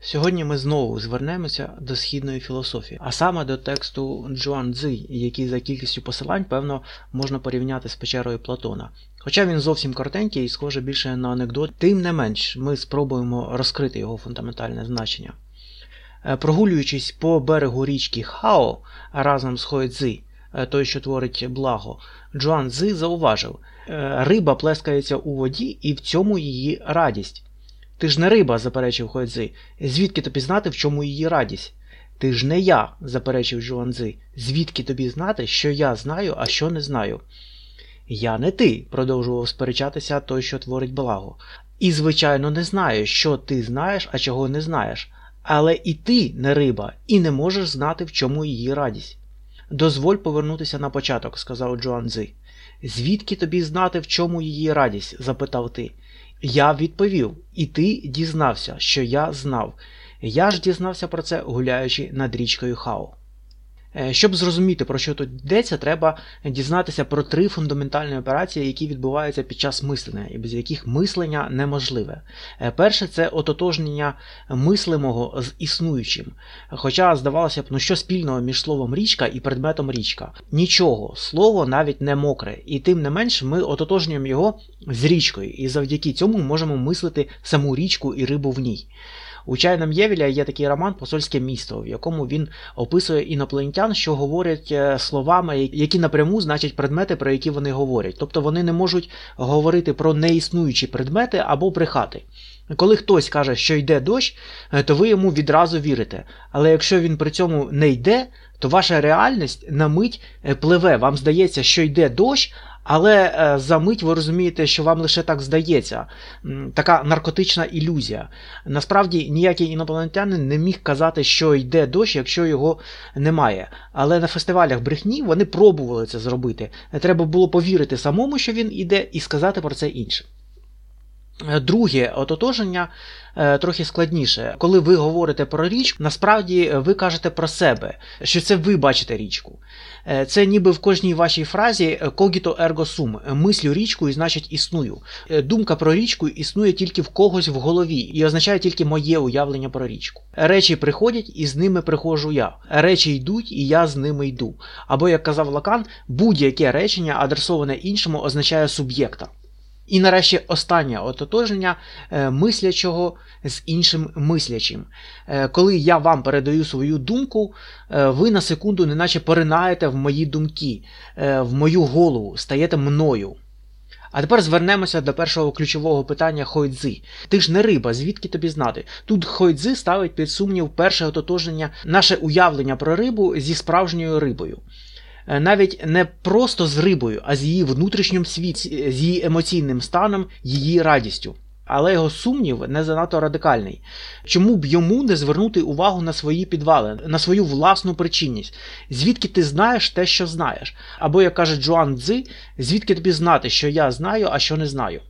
Сьогодні ми знову звернемося до східної філософії, а саме до тексту Джуан-Цзи, який за кількістю посилань, певно, можна порівняти з печерою Платона. Хоча він зовсім коротенький і схоже більше на анекдот, тим не менш ми спробуємо розкрити його фундаментальне значення. Прогулюючись по берегу річки Хао разом з Хойцзи, той, що творить благо, Джуан-Цзи зауважив: риба плескається у воді і в цьому її радість. Ти ж не риба, заперечив Хойцзи. Звідки тобі знати, в чому її радість? Ти ж не я, заперечив Джуан-Цзи. Звідки тобі знати, що я знаю, а що не знаю? Я не ти, продовжував сперечатися той, що творить благо. І, звичайно, не знаю, що ти знаєш, а чого не знаєш. Але і ти не риба, і не можеш знати, в чому її радість. Дозволь повернутися на початок, сказав Джуан-Цзи. Звідки тобі знати, в чому її радість? Запитав ти. Я відповів, і ти дізнався, що я знав. Я ж дізнався про це, гуляючи над річкою Хао. Щоб зрозуміти, про що тут йдеться, треба дізнатися про три фундаментальні операції, які відбуваються під час мислення, і без яких мислення неможливе. Перше – це ототожнення мислимого з існуючим. Хоча, здавалося б, що спільного між словом річка і предметом річка? Нічого, слово навіть не мокре, і тим не менш ми ототожнюємо його з річкою, і завдяки цьому можемо мислити саму річку і рибу в ній. У Чайна М'євеля є такий роман «Посольське місто», в якому він описує інопланетян, що говорять словами, які напряму значать предмети, про які вони говорять. Тобто вони не можуть говорити про неіснуючі предмети або брехати. Коли хтось каже, що йде дощ, то ви йому відразу вірите. Але якщо він при цьому не йде, то ваша реальність на мить пливе. Вам здається, що йде дощ, але за мить ви розумієте, що вам лише так здається. Така наркотична ілюзія. Насправді ніякий інопланетянин не міг казати, що йде дощ, якщо його немає. Але на фестивалях брехні вони пробували це зробити. Треба було повірити самому, що він іде, і сказати про це іншим. Друге ототоження трохи складніше. Коли ви говорите про річку, насправді ви кажете про себе, що це ви бачите річку. Це ніби в кожній вашій фразі «cogito ergo sum» – «мислю річку і значить існую». Думка про річку існує тільки в когось в голові і означає тільки моє уявлення про річку. Речі приходять і з ними приходжу я. Речі йдуть і я з ними йду. Або, як казав Лакан, будь-яке речення, адресоване іншому, означає суб'єкта. І нарешті останнє ототоження мислячого з іншим мислячим. Коли я вам передаю свою думку, ви на секунду неначе поринаєте в мої думки, в мою голову, стаєте мною. А тепер звернемося до першого ключового питання Хойцзи. Ти ж не риба, звідки тобі знати? Тут Хойцзи ставить під сумнів перше ототоження, наше уявлення про рибу зі справжньою рибою. Навіть не просто з рибою, а з її внутрішнім світі, з її емоційним станом, її радістю. Але його сумнів не занадто радикальний. Чому б йому не звернути увагу на свої підвали, на свою власну причинність? Звідки ти знаєш те, що знаєш? Або, як каже Джуан-Цзи, звідки тобі знати, що я знаю, а що не знаю?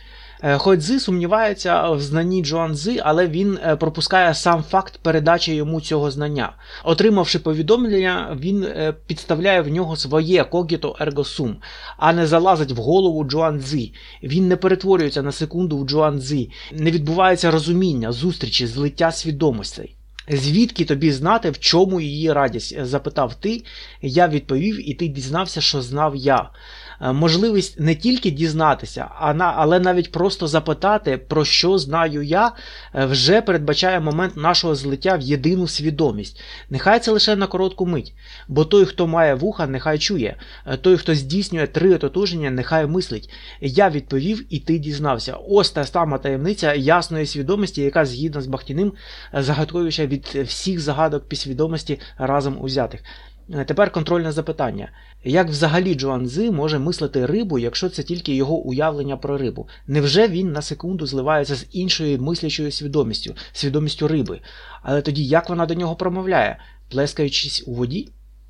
Хойцзи сумнівається в знанні Джуан-Цзи, але він пропускає сам факт передачі йому цього знання. Отримавши повідомлення, він підставляє в нього своє «cogito ergo sum», а не залазить в голову Джуан-Цзи. Він не перетворюється на секунду в Джуан-Цзи, не відбувається розуміння, зустрічі, злиття свідомостей. «Звідки тобі знати, в чому її радість?» – запитав ти, я відповів, і ти дізнався, що знав я. Можливість не тільки дізнатися, але навіть просто запитати, про що знаю я, вже передбачає момент нашого злиття в єдину свідомість. Нехай це лише на коротку мить, бо той, хто має вуха, нехай чує, той, хто здійснює три ототоження, нехай мислить. Я відповів, і ти дізнався. Ось та сама таємниця ясної свідомості, яка згідно з Бахтіним загадковіша від всіх загадок підсвідомості разом узятих. Тепер контрольне запитання. Як взагалі Джуан-Цзи може мислити рибу, якщо це тільки його уявлення про рибу? Невже він на секунду зливається з іншою мислячою свідомістю риби? Але тоді як вона до нього промовляє? Плескаючись у воді?